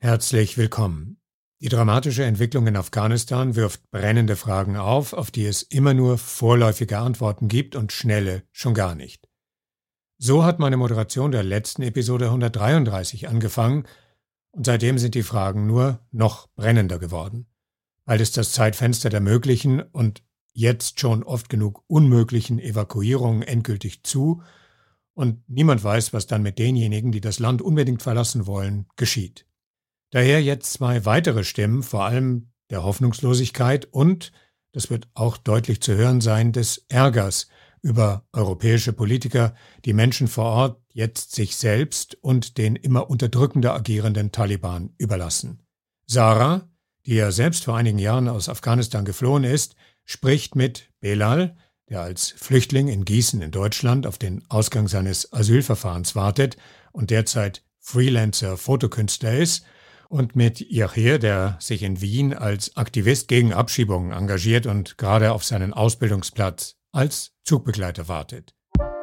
Herzlich willkommen. Die dramatische Entwicklung in Afghanistan wirft brennende Fragen auf die es immer nur vorläufige Antworten gibt und schnelle schon gar nicht. So hat meine Moderation der letzten Episode 133 angefangen und seitdem sind die Fragen nur noch brennender geworden. Bald ist das Zeitfenster der möglichen und jetzt schon oft genug unmöglichen Evakuierungen endgültig zu und niemand weiß, was dann mit denjenigen, die das Land unbedingt verlassen wollen, geschieht. Daher jetzt zwei weitere Stimmen, vor allem der Hoffnungslosigkeit und, das wird auch deutlich zu hören sein, des Ärgers über europäische Politiker, die Menschen vor Ort jetzt sich selbst und den immer unterdrückender agierenden Taliban überlassen. Sarah, die ja selbst vor einigen Jahren aus Afghanistan geflohen ist, spricht mit Belal, der als Flüchtling in Gießen in Deutschland auf den Ausgang seines Asylverfahrens wartet und derzeit Freelancer-Fotokünstler ist, und mit Yahir, der sich in Wien als Aktivist gegen Abschiebungen engagiert und gerade auf seinen Ausbildungsplatz als Zugbegleiter wartet.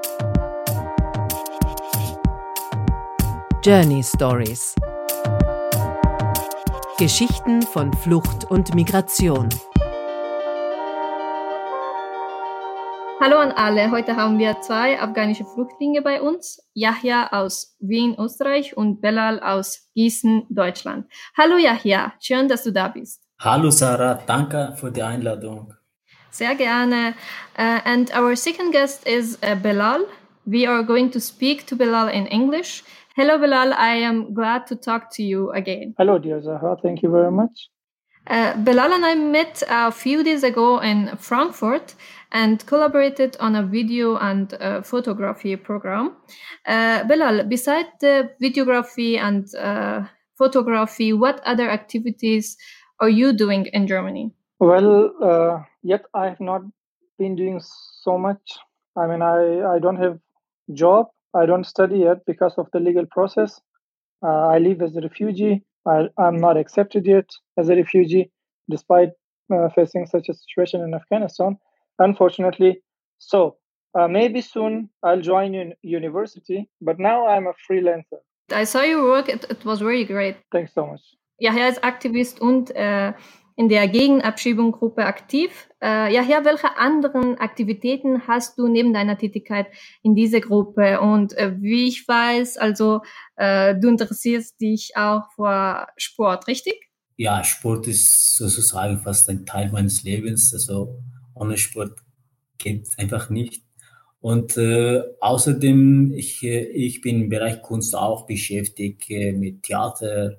Journey Stories. Geschichten von Flucht und Migration. Hallo an alle, heute haben wir zwei afghanische Flüchtlinge bei uns, Yahya aus Wien, Österreich und Belal aus Gießen, Deutschland. Hallo Yahya, schön, dass du da bist. Hallo Sarah, danke für die Einladung. Sehr gerne. And our second guest is Belal. We are going to speak to Belal in English. Hello Belal, I am glad to talk to you again. Hello dear Zahra, thank you very much. Belal and I met a few days ago in Frankfurt and collaborated on a video and photography program. Belal, besides the videography and photography, what other activities are you doing in Germany? Well, yet I have not been doing so much. I mean, I don't have job. I don't study yet because of the legal process. I live as a refugee. I'm not accepted yet as a refugee, despite facing such a situation in Afghanistan, unfortunately. So maybe soon I'll join university, but now I'm a freelancer. I saw your work. It was very great. Thanks so much. Yahya ist Aktivist und in der Gegenabschiebungsgruppe aktiv. Yahya, welche anderen Aktivitäten hast du neben deiner Tätigkeit in dieser Gruppe? Und wie ich weiß, also du interessierst dich auch für Sport, richtig? Ja, Sport ist sozusagen fast ein Teil meines Lebens. Also ohne Sport geht es einfach nicht. Und außerdem, ich bin im Bereich Kunst auch beschäftigt mit Theater,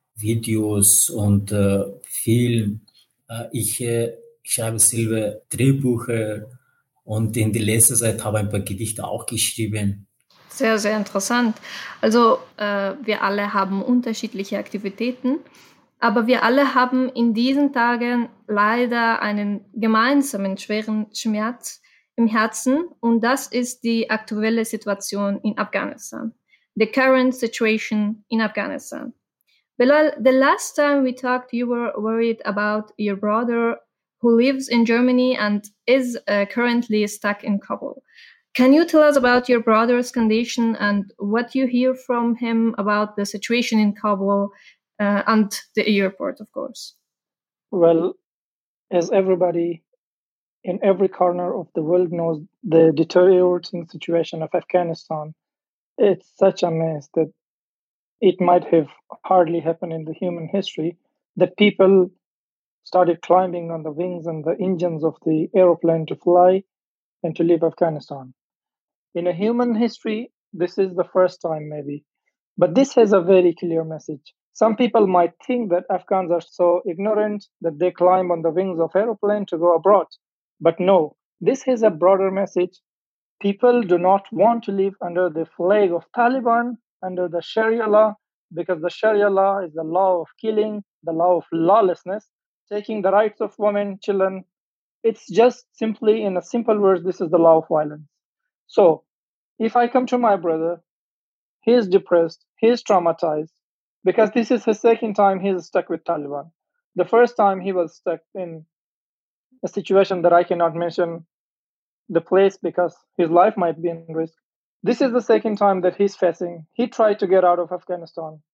Videos und Film. Ich schreibe selber Drehbücher und in der letzten Zeit habe ich ein paar Gedichte auch geschrieben. Sehr, sehr interessant. Also wir alle haben unterschiedliche Aktivitäten, aber wir alle haben in diesen Tagen leider einen gemeinsamen schweren Schmerz im Herzen und das ist die aktuelle Situation in Afghanistan. The current situation in Afghanistan. Belal, the last time we talked, you were worried about your brother who lives in Germany and is currently stuck in Kabul. Can you tell us about your brother's condition and what you hear from him about the situation in Kabul and the airport, of course? Well, as everybody in every corner of the world knows, the deteriorating situation of Afghanistan, it's such a mess that it might have hardly happened in the human history that people started climbing on the wings and the engines of the aeroplane to fly and to leave Afghanistan. In a human history, this is the first time maybe, but this has a very clear message. Some people might think that Afghans are so ignorant that they climb on the wings of aeroplane to go abroad. But no, this has a broader message. People do not want to live under the flag of Taliban, under the Sharia law, because the Sharia law is the law of killing, the law of lawlessness, taking the rights of women, children. It's just simply, in a simple words, this is the law of violence. So, if I come to my brother, he is depressed, he is traumatized, because this is his second time he is stuck with Taliban. The first time he was stuck in a situation that I cannot mention the place because his life might be in risk. This is the second time that he's facing. He tried to get out of Afghanistan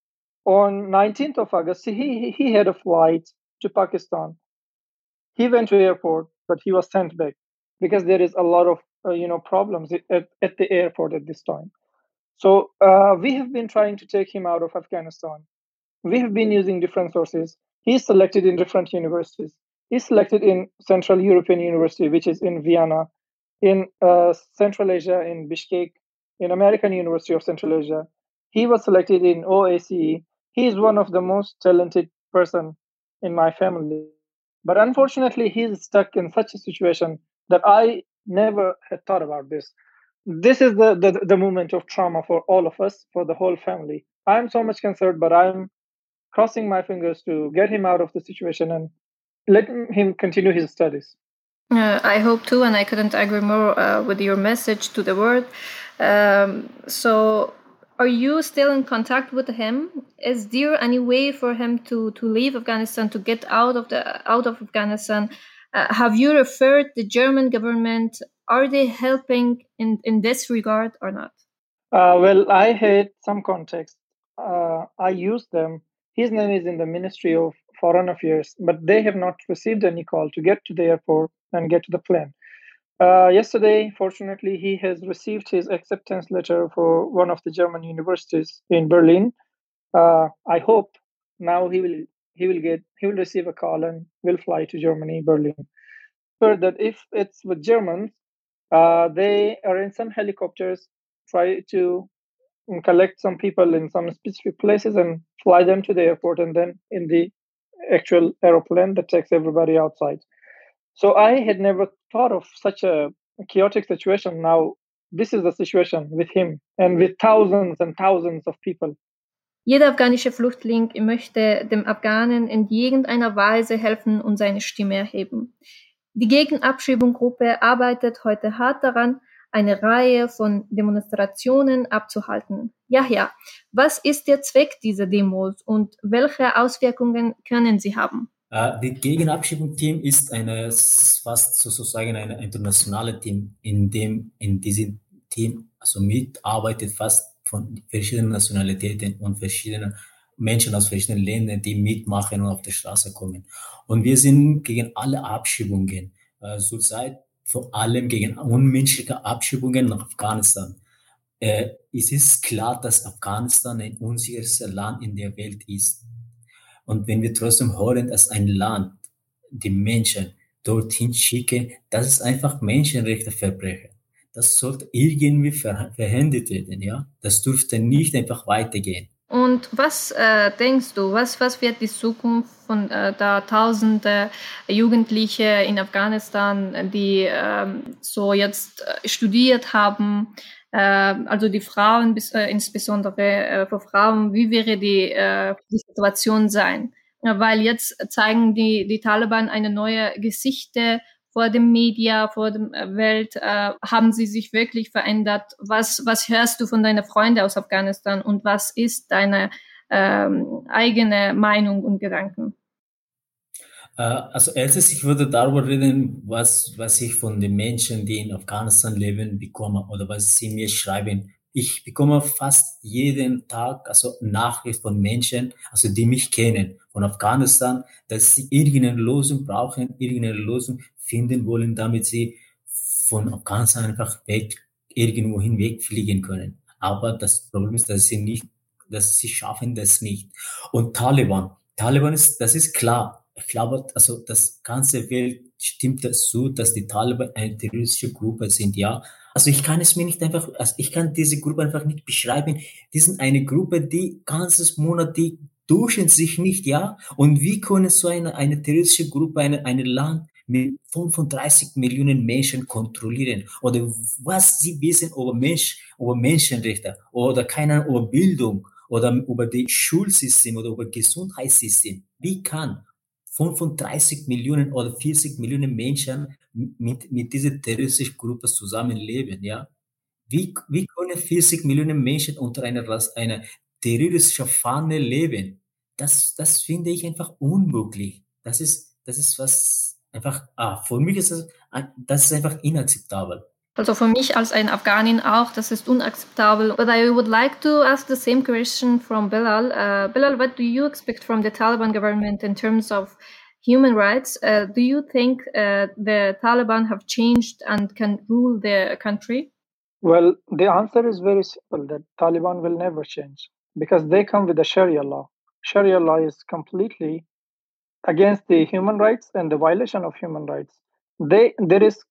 On 19th of August, he had a flight to Pakistan. He went to airport, but he was sent back because there is a lot of problems at the airport at this time. So we have been trying to take him out of Afghanistan. We have been using different sources. He's selected in different universities. He's selected in Central European University, which is in Vienna, in Central Asia, in Bishkek, in American University of Central Asia. He was selected in OACE. He is one of the most talented person in my family. But unfortunately, he's stuck in such a situation that I never had thought about this. This is the moment of trauma for all of us, for the whole family. I'm so much concerned, but I'm crossing my fingers to get him out of the situation and let him continue his studies. I hope too, and I couldn't agree more with your message to the world. So, are you still in contact with him? Is there any way for him to leave Afghanistan, to get out of Afghanistan? Have you referred the German government? Are they helping in this regard or not? Well, I had some contacts. I used them. His name is in the Ministry of Foreign Affairs, but they have not received any call to get to the airport and get to the plane. Yesterday, fortunately, he has received his acceptance letter for one of the German universities in Berlin. I hope now he will receive a call and will fly to Germany, Berlin. But that if it's with Germans, they arrange some helicopters, try to collect some people in some specific places and fly them to the airport, and then in the actual aeroplane that takes everybody outside. So I had never thought of such a chaotic situation. Now, this is the situation with him and with thousands and thousands of people. Jeder afghanische Flüchtling möchte dem Afghanen in irgendeiner Weise helfen und seine Stimme erheben. Die Gegenabschiebungsgruppe arbeitet heute hart daran, eine Reihe von Demonstrationen abzuhalten. Ja, was ist der Zweck dieser Demos und welche Auswirkungen können sie haben? Die Gegenabschiebung-Team ist fast sozusagen ein internationales Team, in diesem Team also mitarbeitet fast von verschiedenen Nationalitäten und verschiedenen Menschen aus verschiedenen Ländern, die mitmachen und auf die Straße kommen. Und wir sind gegen alle Abschiebungen, zurzeit vor allem gegen unmenschliche Abschiebungen nach Afghanistan. Es ist klar, dass Afghanistan ein unsicheres Land in der Welt ist. Und wenn wir trotzdem hören, dass ein Land die Menschen dorthin schicken, das ist einfach Menschenrechtsverbrechen. Das sollte irgendwie verhindert werden, ja. Das dürfte nicht einfach weitergehen. Und was denkst du, was wird die Zukunft von da Tausende Jugendliche in Afghanistan, die so jetzt studiert haben, also die Frauen, insbesondere für Frauen, wie wäre die Situation sein? Weil jetzt zeigen die Taliban eine neue Gesichter vor dem Media, vor der Welt. Haben sie sich wirklich verändert? Was hörst du von deinen Freunden aus Afghanistan und was ist deine eigene Meinung und Gedanken? Also erstens, ich würde darüber reden, was ich von den Menschen, die in Afghanistan leben, bekomme oder was sie mir schreiben. Ich bekomme fast jeden Tag also Nachrichten von Menschen, also die mich kennen, von Afghanistan, dass sie irgendeine Lösung brauchen, irgendeine Lösung finden wollen, damit sie von Afghanistan einfach irgendwo hinwegfliegen können. Aber das Problem ist, dass sie schaffen das nicht. Und Taliban das ist klar. Ich glaube, also das ganze Welt stimmt dazu, dass die Taliban eine terroristische Gruppe sind, ja. Also ich kann diese Gruppe einfach nicht beschreiben. Die sind eine Gruppe, die ganzes Monat, die duschen sich nicht, ja. Und wie können so eine terroristische Gruppe ein Land mit 35 Millionen Menschen kontrollieren? Oder was sie wissen über Menschenrechte oder keine Ahnung, über Bildung oder über die Schulsystem oder über Gesundheitssystem. Wie kann 35 Millionen oder 40 Millionen Menschen mit dieser terroristischen Gruppe zusammenleben, ja? Wie können 40 Millionen Menschen unter einer terroristischen Fahne leben? Das finde ich einfach unmöglich. Das ist was einfach, für mich ist das ist einfach inakzeptabel. Also für mich als ein Afghanin auch, das ist unakzeptabel. But I would like to ask the same question from Bilal. Bilal, what do you expect from the Taliban government in terms of human rights? Do you think the Taliban have changed and can rule the country? Well, the answer is very simple, that Taliban will never change because they come with the Sharia law. Sharia law is completely against the human rights and the violation of human rights. There is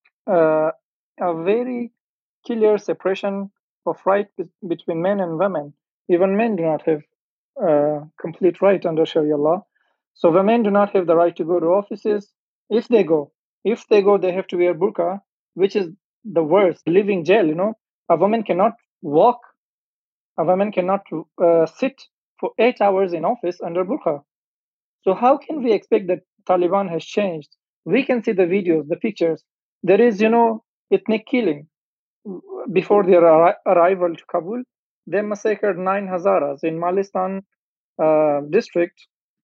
a very clear separation of right between men and women. Even men do not have complete right under Sharia law. So women do not have the right to go to offices. If they go, they have to wear burqa, which is the worst, living jail. A woman cannot walk. A woman cannot sit for 8 hours in office under burqa. So how can we expect that Taliban has changed? We can see the videos, the pictures. There is, ethnic killing. Before their arrival to Kabul, they massacred 9 Hazaras in Malistan district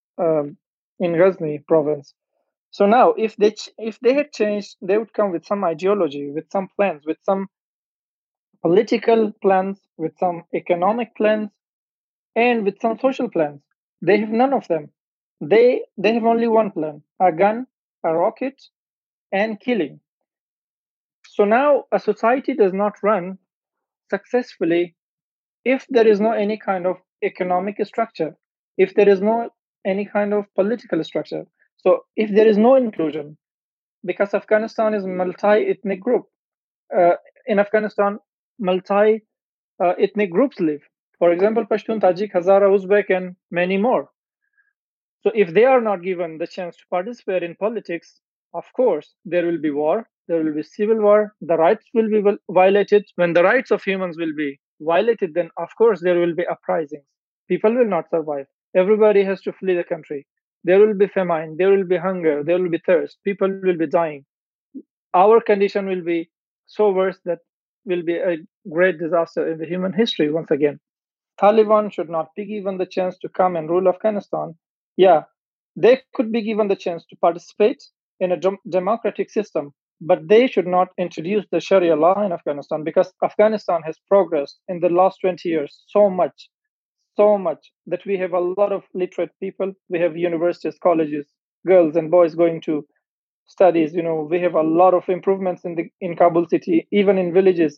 in Ghazni province. So now, if they had changed, they would come with some ideology, with some plans, with some political plans, with some economic plans, and with some social plans. They have none of them. They have only one plan: a gun, a rocket, and killing. So now a society does not run successfully if there is no any kind of economic structure, if there is no any kind of political structure. So if there is no inclusion, because Afghanistan is multi-ethnic group. In Afghanistan, multi-ethnic groups live. For example, Pashtun, Tajik, Hazara, Uzbek, and many more. So if they are not given the chance to participate in politics, of course, there will be war, there will be civil war, the rights will be violated. When the rights of humans will be violated, then of course there will be uprisings. People will not survive. Everybody has to flee the country. There will be famine, there will be hunger, there will be thirst. People will be dying. Our condition will be so worse that will be a great disaster in the human history once again. Taliban should not be given the chance to come and rule Afghanistan. Yeah, they could be given the chance to participate in a democratic system, but they should not introduce the Sharia law in Afghanistan, because Afghanistan has progressed in the last 20 years so much that we have a lot of literate people. We have universities, colleges, girls and boys going to studies. We have a lot of improvements in Kabul city, even in villages.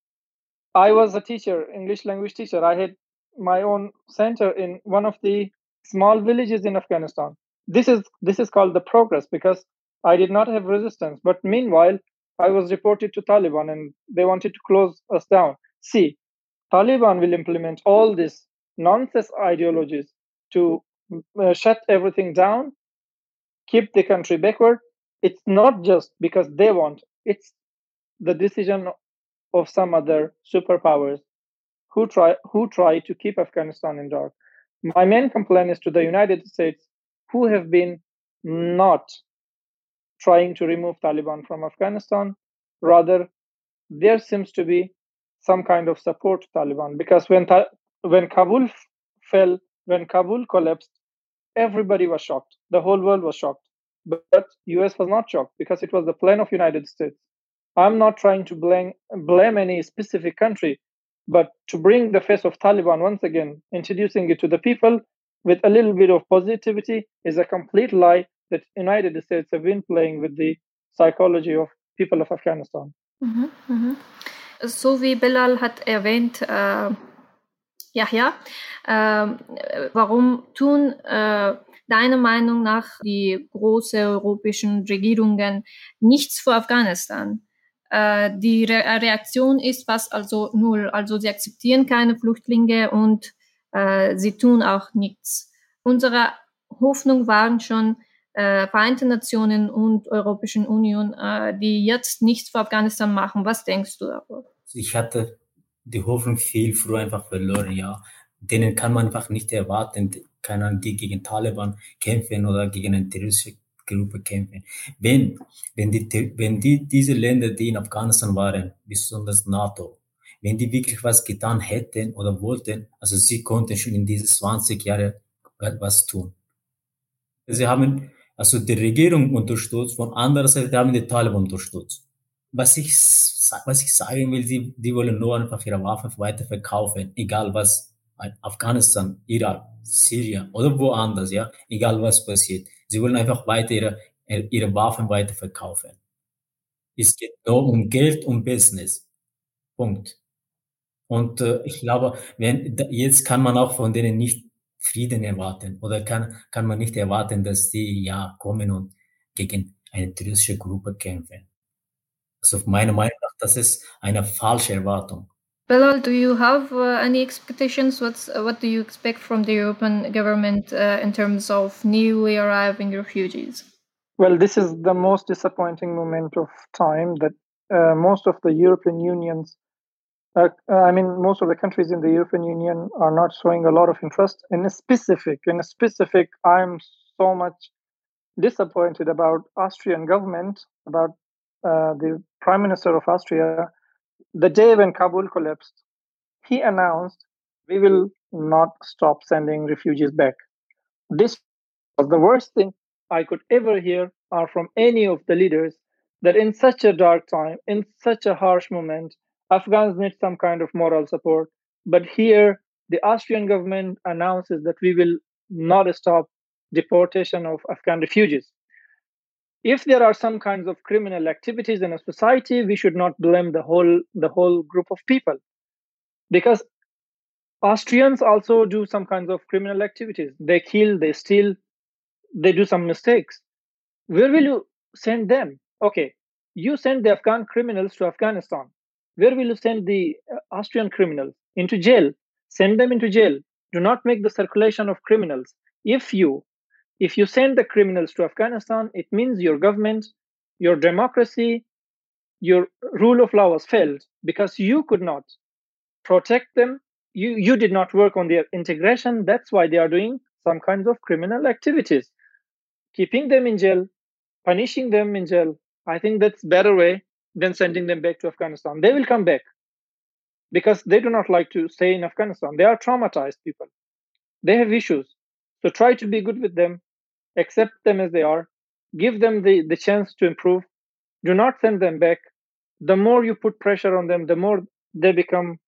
I was a teacher, English language teacher. I had my own center in one of the small villages in Afghanistan. This is called the progress, because I did not have resistance. But meanwhile, I was reported to Taliban and they wanted to close us down. See, Taliban will implement all these nonsense ideologies to shut everything down, keep the country backward. It's not just because they want, it's the decision of some other superpowers who try to keep Afghanistan in dark. My main complaint is to the United States, who have been not trying to remove Taliban from Afghanistan. Rather, there seems to be some kind of support to Taliban, because when Kabul fell, when Kabul collapsed, everybody was shocked. The whole world was shocked. But US was not shocked, because it was the plan of United States. I'm not trying to blame any specific country, but to bring the face of Taliban once again, introducing it to the people with a little bit of positivity, is a complete lie that United States have been playing with the psychology of people of Afghanistan. Mhm, mhm. So wie Bilal hat erwähnt, warum tun deiner Meinung nach die großen europäischen Regierungen nichts für Afghanistan? Die Reaktion ist fast also null. Also sie akzeptieren keine Flüchtlinge und sie tun auch nichts. Unsere Hoffnung waren schon Vereinte Nationen und Europäischen Union, die jetzt nichts für Afghanistan machen. Was denkst du darüber? Ich hatte die Hoffnung viel früher einfach verloren, ja. Denen kann man einfach nicht erwarten, die gegen Taliban kämpfen oder gegen eine terroristische Gruppe kämpfen. Wenn diese Länder, die in Afghanistan waren, besonders NATO, wenn die wirklich was getan hätten oder wollten, also sie konnten schon in diese 20 Jahre was tun. Sie haben also die Regierung unterstützt, von anderer Seite haben die Taliban unterstützt. was ich sagen will, die wollen nur einfach ihre Waffen weiterverkaufen, egal was, Afghanistan, Irak, Syrien oder woanders, ja, egal was passiert. Sie wollen einfach weiter ihre Waffen weiterverkaufen. Es geht nur um Geld und Business. Punkt. Und ich glaube, jetzt kann man auch von denen nicht Frieden erwarten oder kann man nicht erwarten, dass die ja kommen und gegen eine terroristische Gruppe kämpfen. Also meiner Meinung nach, das ist eine falsche Erwartung. Bilal, do you have any expectations? What do you expect from the European government in terms of newly arriving refugees? Well, this is the most disappointing moment of time that most of the European Unions, most of the countries in the European Union are not showing a lot of interest in a specific. I'm so much disappointed about Austrian government, about the Prime Minister of Austria. The day when Kabul collapsed, he announced, we will not stop sending refugees back. This was the worst thing I could ever hear from any of the leaders, that in such a dark time, in such a harsh moment, Afghans need some kind of moral support. But here, the Austrian government announces that we will not stop deportation of Afghan refugees. If there are some kinds of criminal activities in a society, we should not blame the whole group of people, because Austrians also do some kinds of criminal activities. They kill, they steal, they do some mistakes. Where will you send them? Okay, you send the Afghan criminals to Afghanistan. Where will you send the Austrian criminals? Into jail. Send them into jail. Do not make the circulation of criminals. If you send the criminals to Afghanistan, it means your government, your democracy, your rule of law has failed, because you could not protect them. You did not work on their integration. That's why they are doing some kinds of criminal activities. Keeping them in jail, punishing them in jail, I think that's a better way than sending them back to Afghanistan. They will come back because they do not like to stay in Afghanistan. They are traumatized people. They have issues. So try to be good with them, accept them as they are, give them the chance to improve. Do not send them back. The more you put pressure on them, the more they become,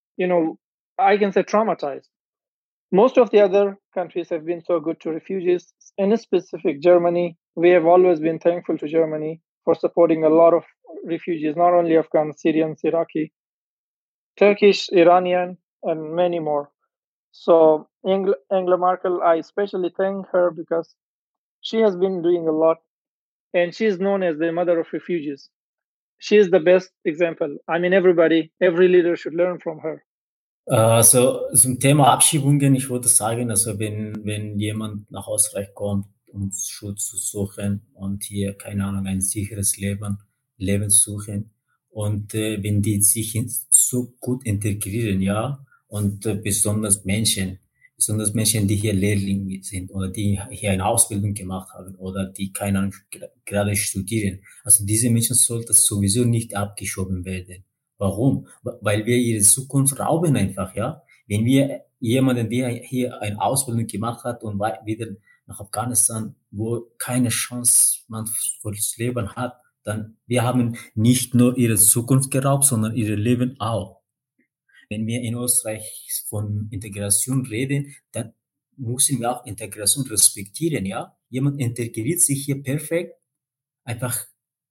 I can say traumatized. Most of the other countries have been so good to refugees. In specific, Germany, we have always been thankful to Germany for supporting a lot of refugees, not only Afghan, Syrians, Iraqi, Turkish, Iranian, and many more. So Angela Merkel, I especially thank her because she has been doing a lot, and she is known as the mother of refugees. She is the best example. I mean, every leader should learn from her. Also zum Thema Abschiebungen, ich würde sagen, also wenn jemand nach Österreich kommt, um Schutz zu suchen und hier, keine Ahnung, ein sicheres Leben suchen, und wenn die sich so gut integrieren, ja, und besonders Menschen, die hier Lehrlinge sind oder die hier eine Ausbildung gemacht haben oder die, keine Ahnung, gerade studieren. Also diese Menschen sollten sowieso nicht abgeschoben werden. Warum? Weil wir ihre Zukunft rauben einfach, ja. Wenn wir jemanden, der hier eine Ausbildung gemacht hat und wieder nach Afghanistan, wo keine Chance man für das Leben hat, dann wir haben nicht nur ihre Zukunft geraubt, sondern ihr Leben auch. Wenn wir in Österreich von Integration reden, dann müssen wir auch Integration respektieren, ja. Jemand integriert sich hier perfekt, einfach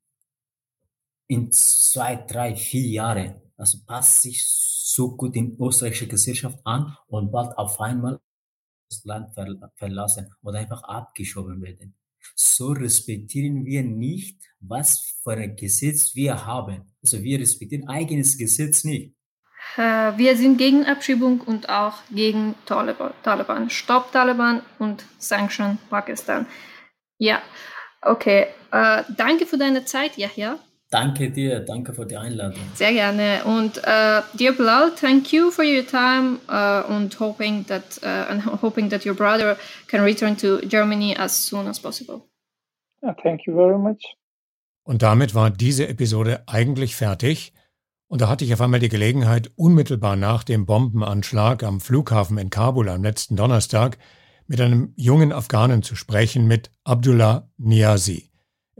in 2, 3, 4 Jahren, also passt sich so gut in österreichische Gesellschaft an und bald auf einmal das Land verlassen oder einfach abgeschoben werden. So respektieren wir nicht, was für ein Gesetz wir haben. Also wir respektieren eigenes Gesetz nicht. Wir sind gegen Abschiebung und auch gegen Taliban. Stop Taliban und Sanction Pakistan. Ja, okay. Danke für deine Zeit, Yahya. Danke dir, danke für die Einladung. Sehr gerne. Und dear Bilal, thank you for your time and hoping that your brother can return to Germany as soon as possible. Thank you very much. Und damit war diese Episode eigentlich fertig. Und da hatte ich auf einmal die Gelegenheit, unmittelbar nach dem Bombenanschlag am Flughafen in Kabul am letzten Donnerstag mit einem jungen Afghanen zu sprechen, mit Abdullah Niazi.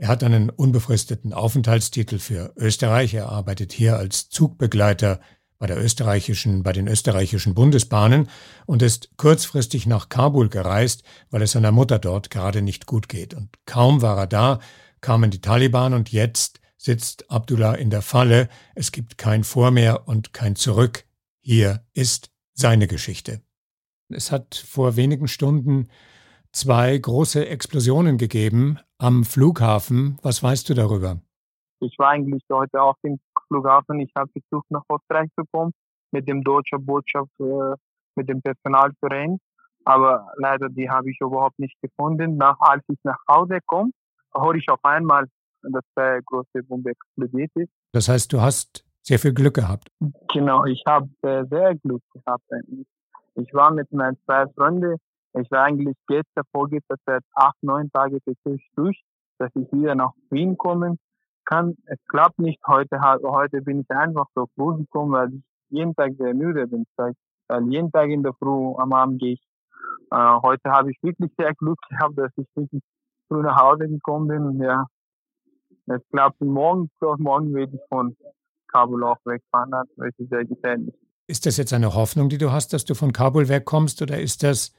Er hat einen unbefristeten Aufenthaltstitel für Österreich. Er arbeitet hier als Zugbegleiter bei den österreichischen Bundesbahnen und ist kurzfristig nach Kabul gereist, weil es seiner Mutter dort gerade nicht gut geht. Und kaum war er da, kamen die Taliban und jetzt sitzt Abdullah in der Falle. Es gibt kein Vor mehr und kein Zurück. Hier ist seine Geschichte. Es hat vor wenigen Stunden 2 große Explosionen gegeben am Flughafen. Was weißt du darüber? Ich war eigentlich heute auch im Flughafen. Ich habe versucht, nach Österreich zu kommen, mit dem deutschen Botschaft, mit dem Personal zu reden. Aber leider, die habe ich überhaupt nicht gefunden. Als ich nach Hause komme, höre ich auf einmal, dass eine große Bombe explodiert ist. Das heißt, du hast sehr viel Glück gehabt. Genau, ich habe sehr Glück gehabt eigentlich. Ich war mit meinen 2 Freunden. Ich war eigentlich vorgestern seit 8, 9 Tagen durch, dass ich wieder nach Wien kommen kann. Es klappt nicht. Heute bin ich einfach so früh gekommen, weil ich jeden Tag sehr müde bin. Weil jeden Tag in der Früh am Abend gehe ich. Heute habe ich wirklich sehr Glück gehabt, dass ich wirklich früh nach Hause gekommen bin. Ja, es klappt. Morgen werde ich von Kabul auch wegfahren. Das ist sehr gefährlich. Ist das jetzt eine Hoffnung, die du hast, dass du von Kabul wegkommst, oder ist das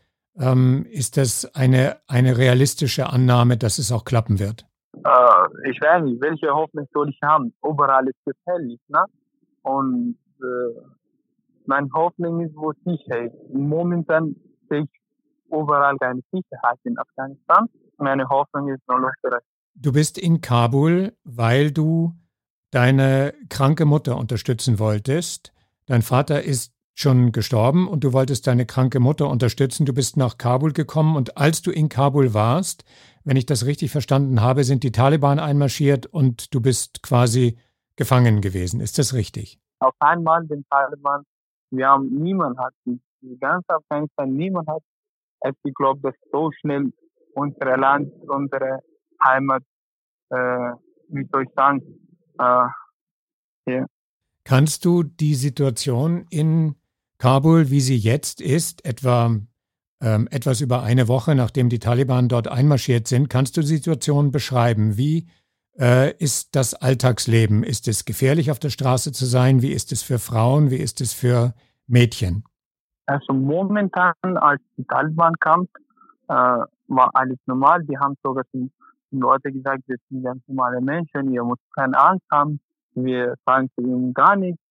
eine realistische Annahme, dass es auch klappen wird? Ich weiß nicht, welche Hoffnung soll ich haben? Überall ist gefährlich, ne? Und meine Hoffnung ist, wo Sicherheit. Momentan sehe ich überall keine Sicherheit in Afghanistan. Meine Hoffnung ist nur Österreich. Du bist in Kabul, weil du deine kranke Mutter unterstützen wolltest. Dein Vater ist schon gestorben und du wolltest deine kranke Mutter unterstützen. Du bist nach Kabul gekommen und als du in Kabul warst, wenn ich das richtig verstanden habe, sind die Taliban einmarschiert und du bist quasi gefangen gewesen. Ist das richtig? Auf einmal den Taliban, niemand hat es geglaubt, dass so schnell unser Land, unsere Heimat, wie soll ich sagen, hier. Kannst du die Situation in Kabul, wie sie jetzt ist, etwa etwas über eine Woche, nachdem die Taliban dort einmarschiert sind, kannst du die Situation beschreiben? Wie ist das Alltagsleben? Ist es gefährlich, auf der Straße zu sein? Wie ist es für Frauen? Wie ist es für Mädchen? Also momentan, als die Taliban kam, war alles normal. Die haben sogar den Leuten gesagt, wir sind ganz normale Menschen, ihr müsst keine Angst haben. Wir sagen zu ihnen gar nichts.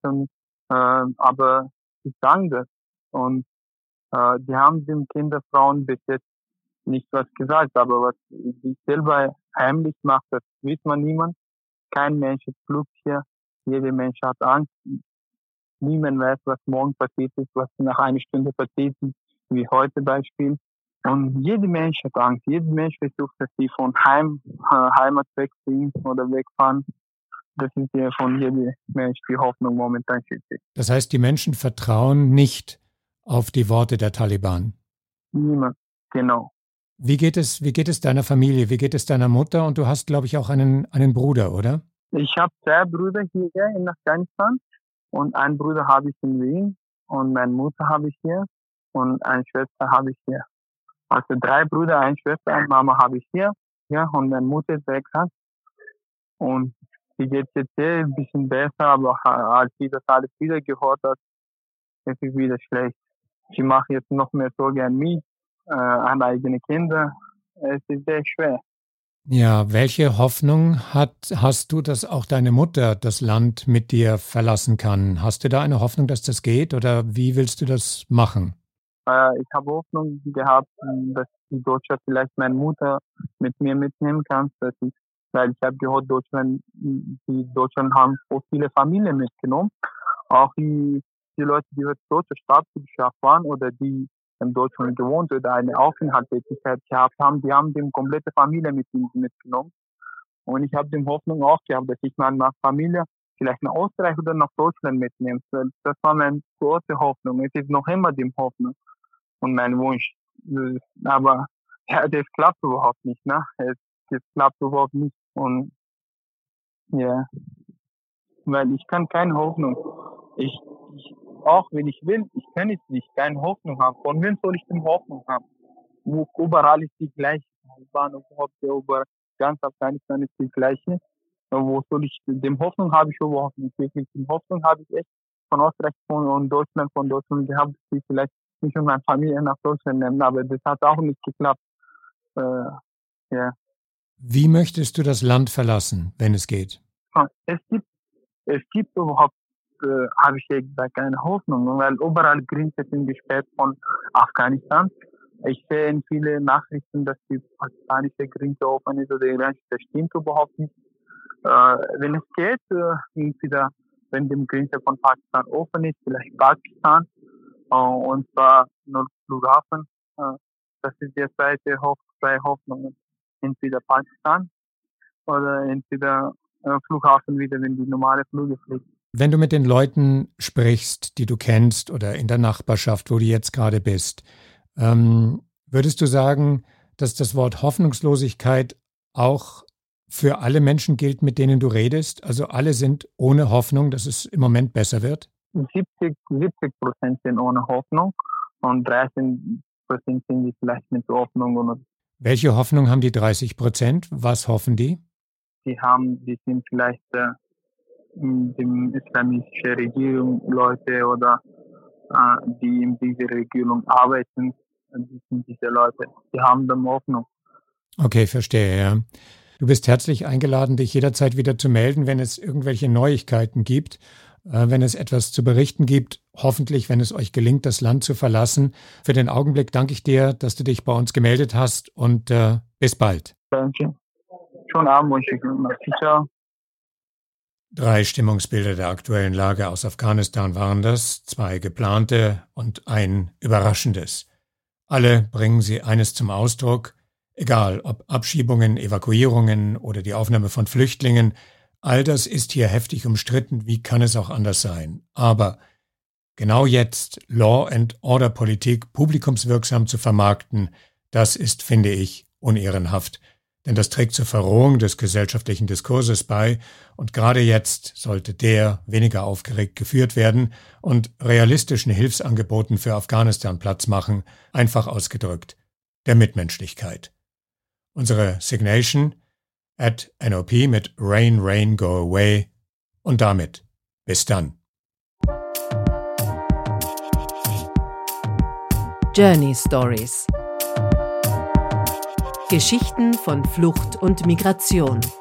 Aber sie sagen das. Und die haben den Kinderfrauen bis jetzt nicht was gesagt. Aber was sie selber heimlich macht, das weiß man niemand. Kein Mensch ist Glück hier. Jeder Mensch hat Angst. Niemand weiß, was morgen passiert ist, was nach einer Stunde passiert ist, wie heute Beispiel. Und jeder Mensch hat Angst. Jeder Mensch versucht, dass sie von Heimat wegziehen oder wegfahren. Das ist ja von jedem Mensch die Hoffnung momentan schützig. Das heißt, die Menschen vertrauen nicht auf die Worte der Taliban? Niemand, genau. Wie geht es deiner Familie? Wie geht es deiner Mutter? Und du hast, glaube ich, auch einen Bruder, oder? Ich habe 2 Brüder hier in Afghanistan und einen Bruder habe ich in Wien und meine Mutter habe ich hier und eine Schwester habe ich hier. Also 3 Brüder, eine Schwester, eine Mama habe ich hier. Ja, und meine Mutter ist sehr krank. Und sie geht jetzt ein bisschen besser, aber als sie das alles wieder gehört hat, ist es wieder schlecht. Sie macht jetzt noch mehr Sorge an mich, an eigene Kinder. Es ist sehr schwer. Ja, welche Hoffnung hast du, dass auch deine Mutter das Land mit dir verlassen kann? Hast du da eine Hoffnung, dass das geht, oder wie willst du das machen? Ich habe Hoffnung gehabt, dass die Deutsche vielleicht meine Mutter mit mir mitnehmen kann. Weil ich habe gehört, die Deutschen haben so viele Familien mitgenommen. Auch die Leute, die mit deutscher Staatsbürgerschaft waren oder die in Deutschland gewohnt oder eine Aufenthaltstätigkeit gehabt haben, die haben die komplette Familie mitgenommen. Und ich habe die Hoffnung auch gehabt, dass ich meine Familie vielleicht nach Österreich oder nach Deutschland mitnehme. Das war meine große Hoffnung. Es ist noch immer die Hoffnung und mein Wunsch. Aber ja, das klappt überhaupt nicht. Ne? Es klappt überhaupt nicht. Und ja, weil ich kann keine Hoffnung. Auch wenn ich will, ich kann es nicht, keine Hoffnung haben. Von wem soll ich denn Hoffnung haben? Überall ist die gleiche Bahn überhaupt, ganz Afghanistan ist die gleiche. Wo soll ich, dem Hoffnung habe ich überhaupt nicht wirklich. Die Hoffnung habe ich echt von Österreich und Deutschland, gehabt, dass ich vielleicht mich und meine Familie nach Deutschland nehmen, aber das hat auch nicht geklappt. Ja. Wie möchtest du das Land verlassen, wenn es geht? Es gibt überhaupt, habe ich ja gesagt, keine Hoffnung, weil überall Grenzen sind gesperrt von Afghanistan. Ich sehe in vielen Nachrichten, dass die pakistanische Grenze offen ist oder iranische, das stimmt überhaupt nicht. Wenn es geht, entweder wenn die Grenze von Pakistan offen ist, vielleicht Pakistan, und zwar nur Flughafen. Das ist die zweite freie Hoffnung. Entweder Pakistan oder entweder Flughafen wieder, wenn die normale Flüge fliegen. Wenn du mit den Leuten sprichst, die du kennst oder in der Nachbarschaft, wo du jetzt gerade bist, würdest du sagen, dass das Wort Hoffnungslosigkeit auch für alle Menschen gilt, mit denen du redest? Also alle sind ohne Hoffnung, dass es im Moment besser wird? 70% sind ohne Hoffnung und 30% sind die vielleicht mit Hoffnung. Welche Hoffnung haben die 30%? Was hoffen die? Die sind vielleicht die islamische Regierung Leute oder die in dieser Regierung arbeiten. Die sind diese Leute. Die haben dann Hoffnung. Okay, verstehe, ja. Du bist herzlich eingeladen, dich jederzeit wieder zu melden, wenn es irgendwelche Neuigkeiten gibt, wenn es etwas zu berichten gibt, hoffentlich, wenn es euch gelingt, das Land zu verlassen. Für den Augenblick danke ich dir, dass du dich bei uns gemeldet hast und bis bald. Danke. Schönen Abend wünsche ich. Ciao. 3 Stimmungsbilder der aktuellen Lage aus Afghanistan waren das, 2 geplante und ein überraschendes. Alle bringen sie eines zum Ausdruck: Egal ob Abschiebungen, Evakuierungen oder die Aufnahme von Flüchtlingen, all das ist hier heftig umstritten, wie kann es auch anders sein? Aber genau jetzt Law-and-Order-Politik publikumswirksam zu vermarkten, das ist, finde ich, unehrenhaft. Denn das trägt zur Verrohung des gesellschaftlichen Diskurses bei und gerade jetzt sollte der weniger aufgeregt geführt werden und realistischen Hilfsangeboten für Afghanistan Platz machen, einfach ausgedrückt, der Mitmenschlichkeit. Unsere Signation @NOP mit Rain, Rain, Go Away und damit bis dann. Journey Stories. Geschichten von Flucht und Migration.